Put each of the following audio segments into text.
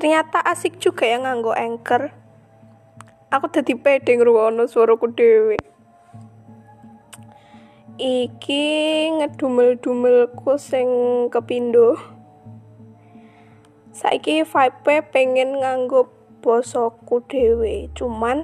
Ternyata asik juga ya nganggo Anchor. Aku dadi pede ngrungokno suaraku dhewe. Iki ngedumel-dumelku sing kepindho. Saiki vibe pengen nganggo basaku dhewe, cuman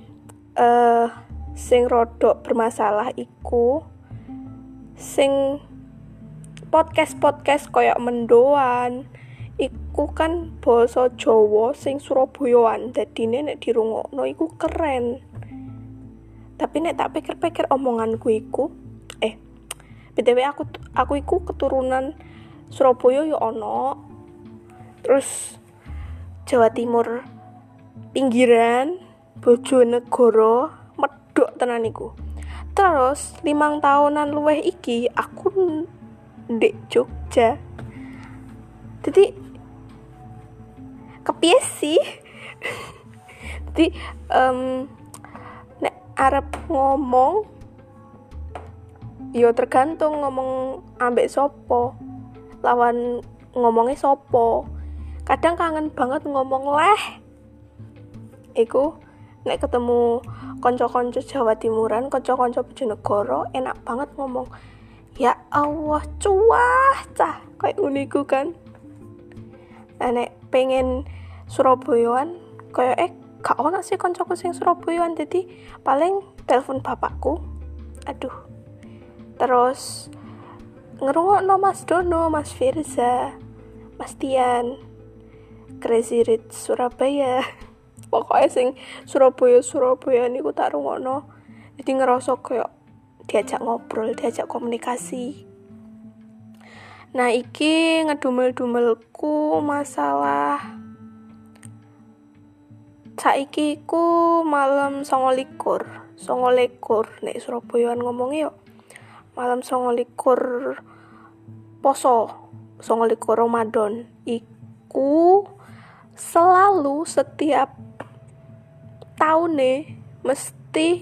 sing rodok bermasalah iku sing podcast koyo mendoan iku kan basa Jawa sing Surabayaan, dadine nek dirungokno iku keren. Tapi nek tak pikir-pikir omonganku iku BTW aku iku keturunan Surabaya yo ono. Terus Jawa Timur pinggiran, Bojonegoro, medhok tenan iku. Terus 5 tahunan luwih iki aku ndek Jogja. Jadi kepiye sih? Jadi nek arep ngomong yo tergantung ngomong ambek sopo, lawan ngomongnya sopo. Kadang kangen banget ngomong iku nek ketemu konco-konco Jawa Timuran, konco-konco Bojonegoro, enak banget ngomong ya Allah cuah cah kayak uniku kan. Nek pengen Surabayaan kayak gak ono sih koncoku sing Surabayaan, jadi paling telepon bapakku. Terus ngerungokno Mas Dono, Mas Firza, Mas Tian, Crazy Rich Surabaya. Pokoknya sing Surabaya niku tak rungokno. Jadi ngerasa kayak diajak ngobrol, diajak komunikasi. Nah, iki ngedumel-dumelku masalah saiki ku malam 29 nek Surabayaan ngomongnya yo malam 29 poso 29 Ramadan iku selalu setiap tahun mesti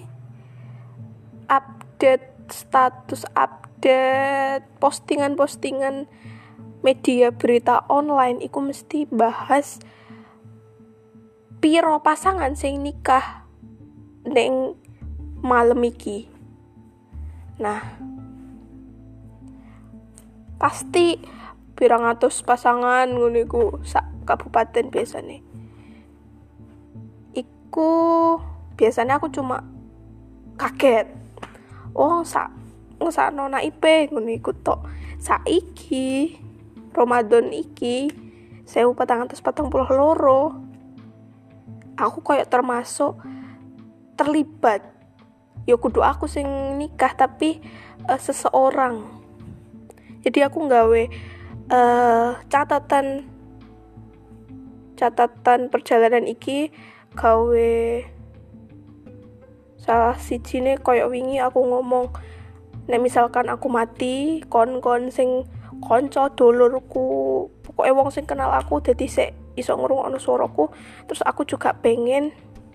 update status, update postingan media berita online iku mesti bahas piro pasangan sing nikah neng malam iki. Nah, pasti pirang atus pasangan ngono iku sak kabupaten biasane. Iku biasanya aku cuma kaget. Oh, ngesakno naipe ngono iku tok. Saiki Ramadan iki 1442. Aku koyo termasuk terlibat. Ya kudu aku sing nikah tapi seseorang. Jadi aku nggawe catatan perjalanan iki gawe salah sijine koyo wingi aku ngomong nek misalkan aku mati kon sing kanca dulurku pokoke wong sing kenal aku dadi sik iso ngrungokno suaraku. Terus aku juga pengen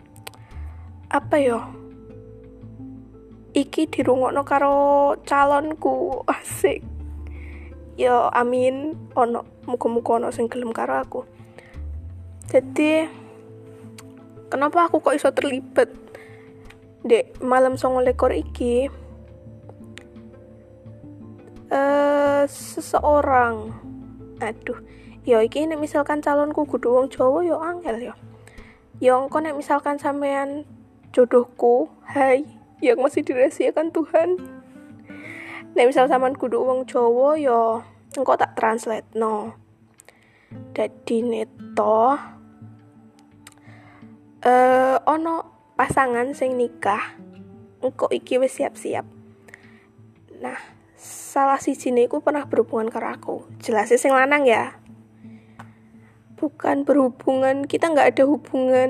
iki dirungokno karo calonku. Asik. Yo amin muga-muga ono sing gelem karo aku. Jadi kenapa aku kok iso terlibat dek malam 29 iki? Seseorang yo iki nek misalkan calonku kudu wong Jawa yo angel yo. Yo engko nek misalkan sampean jodohku, hai yang masih dirahasiakan Tuhan. Nek misal sampean kudu wong Jawa yo engko tak translate no. Dadi neto ono pasangan sing nikah engko iki wis siap-siap. Nah, salah sijine iku pernah berhubungan karo aku. Jelas sing lanang ya. Bukan berhubungan, kita enggak ada hubungan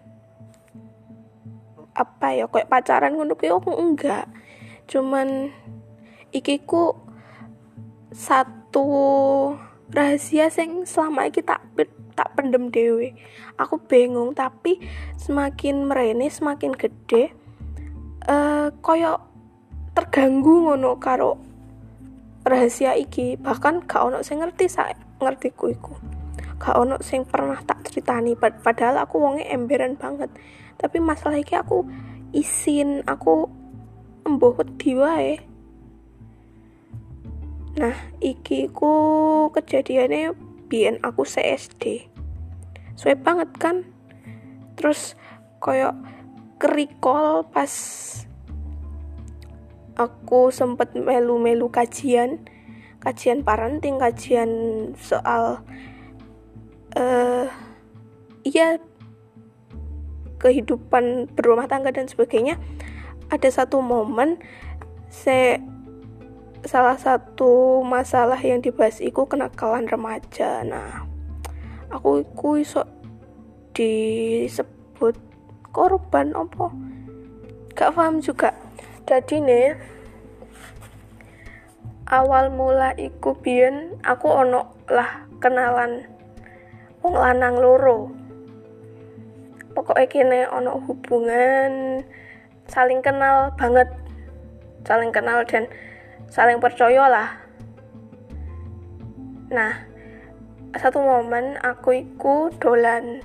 kayak pacaran ngono ki enggak. Cuman iki ku satu rahasia sing selama iki tak pendem dhewe. Aku bingung, tapi semakin merene semakin gede koyo terganggu ngono karo rahasia iki. Bahkan gak ono sing ngerti ngertiku iku. gak ono sing pernah tak ceritani, padahal aku wonge emberan banget. Tapi masalah iki aku isin, aku embuh wedi wae. Nah, iki ku kejadiannya biyen aku SD. Suwe banget kan. Terus koyo kerikol pas aku sempet melu-melu kajian parenting, kajian soal kehidupan berumah tangga dan sebagainya. Ada satu momen salah satu masalah yang dibahas iku kenakalan remaja. Nah, aku iku iso disebut korban apa? Gak paham juga. Jadi nih, awal mula iku biyen aku ono lah kenalan wong lanang loro. Pokoknya kene ono hubungan saling kenal banget, saling kenal dan saling percaya lah. Nah, satu momen aku iku dolan,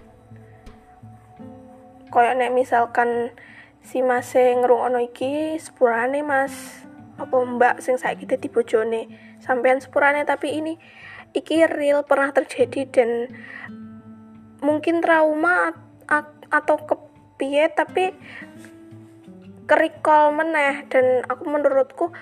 koyo nek misalkan si mas sing ngrungokno iki sepurane mas apa mbak sing saiki dadi bojone sampean sepurane, tapi iki real pernah terjadi dan mungkin trauma atau kepiye, tapi kerikol meneh. Dan menurutku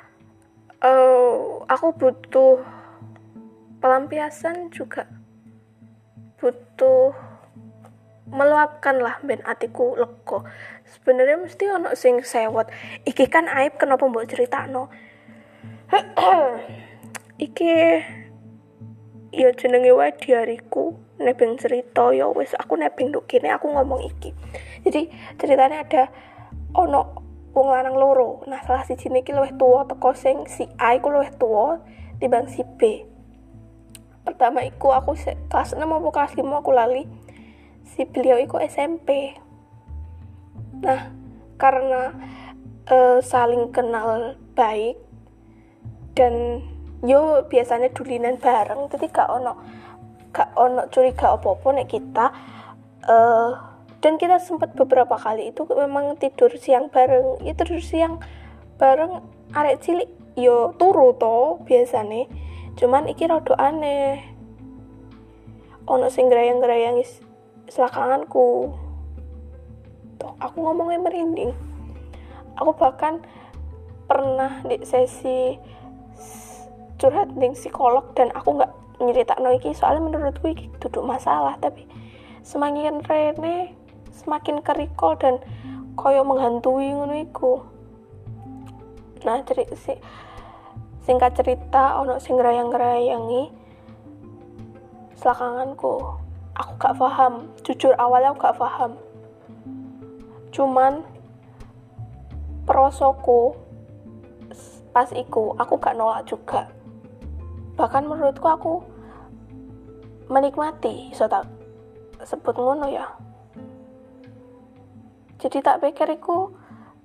aku butuh pelampiasan juga, butuh meluapkan lah ben atiku lega. Sebenarnya mesti ono sing sewot. Iki kan aib, kenapa mbok critakno? Iki ya jenenge wae diariku, nebeng cerita ya wis aku nebeng nduk kene aku ngomong iki. Jadi ceritanya ada ono wong lanang loro. Nah, salah sijine iki luwih tuwa teko sing si A iku luwih tuwa timbang si B. Pertama iku aku kelas 6 apa kelas 5 aku lali. Si beliau iku SMP. Nah, karena saling kenal baik dan yo biasanya dulinan bareng, jadi gak ono curiga apa-apa nek kita dan kita sempat beberapa kali itu memang tidur siang bareng. Ya tidur siang bareng arek cilik yo turu to biasane. Cuman iki rada aneh. Ono sing grayang-grayang selakanganku. Tuh, aku ngomongnya merinding. Aku bahkan pernah di sesi curhat dengan psikolog dan aku gak nyeritakno iki soalnya menurutku iki duduk masalah, tapi semakin rene semakin kerikol dan koyo menghantui ngono iku. Nah, singkat cerita ono sing ngrayang-ngrayangi selakanganku. Aku gak paham, jujur awalnya aku gak paham. Cuman perosoku pas iku aku gak nolak juga. Bahkan menurutku aku menikmati, so tak sebut ngono ya. Jadi tak pikir iku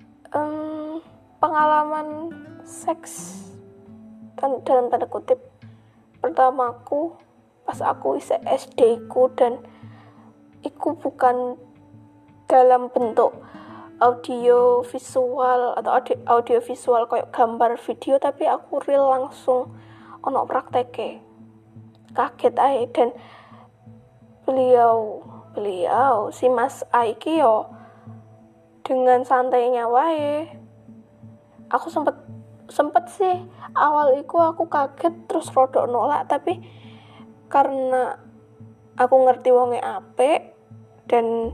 pengalaman seks dalam tanda kutip pertamaku pas aku isih SD ku, dan iku bukan dalam bentuk audio visual atau audio visual kayak gambar video, tapi aku real langsung ono prakteke. Kaget ae. Dan beliau si Mas Aiki yo dengan santainya wae. Aku sempet sih awal iku aku kaget terus rodok nolak, tapi karena aku ngerti wonge apik dan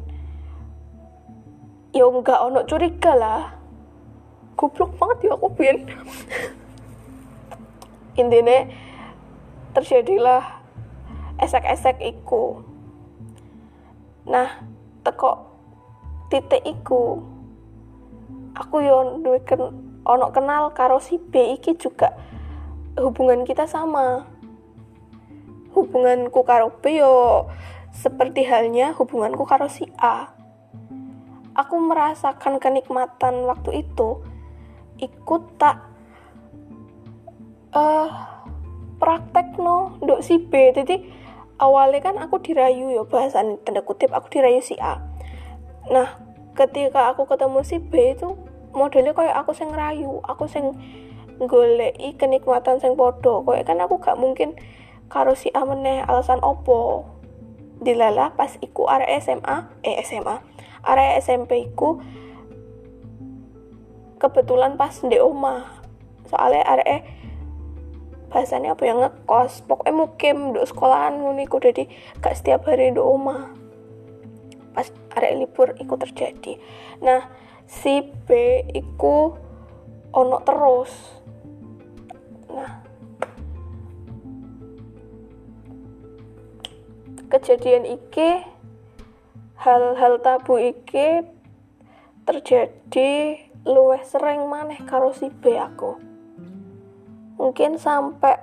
yo enggak ono curiga lah. Goblok banget ya aku biyen. Intine terjadilah esek-esek iku. Nah, teko titik iku aku yo duwe ono kenal karo si B iki juga. Hubungan kita sama. Hubunganku karo B yo seperti halnya hubunganku karo si A. Aku merasakan kenikmatan waktu itu ikut tak praktekno nduk si B. Jadi awalnya kan aku dirayu ya, bahasan tanda kutip aku dirayu si A. Nah ketika aku ketemu si B itu modelnya kayak aku sing ngerayu, aku sing goleki kenikmatan sing podo. Kayak kan aku gak mungkin karo si A meneh, alasan opo dilala pas iku arek SMA arek SMP iku kebetulan pas ndek omah, soalnya arek bahasanya apa ya, ngekos, pokoknya mukim nduk sekolahan ngono iku, jadi gak setiap hari nduk omah. Pas arek libur iku terjadi. Nah si B iku ono terus. Nah kejadian iki, hal-hal tabu iki terjadi luwih sering maneh karo si B aku. Mungkin sampai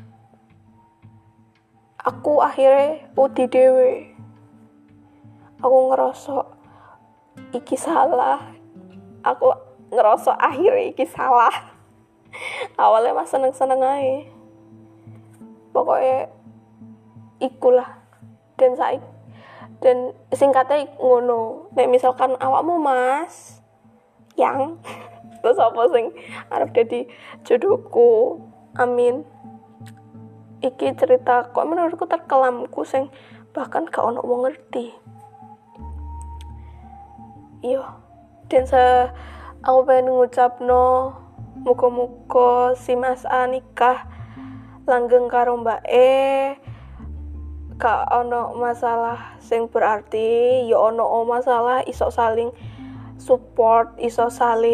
aku akhirnya wedi dhewe. Aku ngerasa iki salah. Aku ngerasa akhirnya iki salah. Awalnya mah seneng-seneng aja. Pokoknya ikulah. Dan singkatnya ngono. Nek misalkan awakmu Mas yang terus apa sing arep dadi jodohku, amin. Iki cerita kok menurutku terkelamku sing bahkan gak ono wong ngerti. Iyo, dan aku pengen ngucapno muga-muga si Mas A nikah langgeng karo Mbak E, gak ono masalah sing berarti, ya ono masalah iso saling support, iso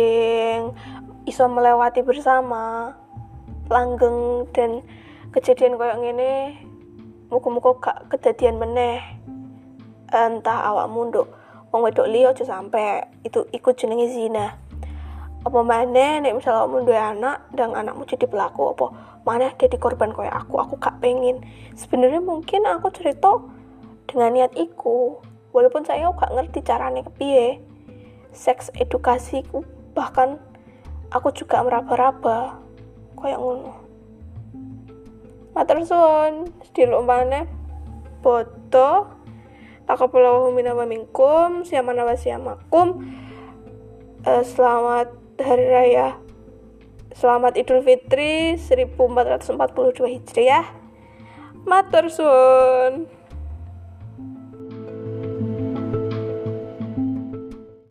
melewati bersama, langgeng. Dan kejadian koyo ngene muga-muga gak kedadian meneh. Entah awakmu nduk wong wedok liya aja sampe itu ikut jenenge zina. Apa maneh nek misal awakmu duwe anak dan anakmu jadi pelaku, apa maneh jadi korban koyo aku gak pengen. Sebenarnya mungkin aku cerita dengan niat iku, walaupun saya gak ngerti carane kepiye. Seks edukasiku, bahkan aku juga meraba-raba koyo ngono. Matur suwun, sediluk maneh boto taqabbalallahu minna wa minkum, siyamana wa siyamakum. Selamat hari raya, selamat Idul Fitri 1442 Hijriah. Matur suwun.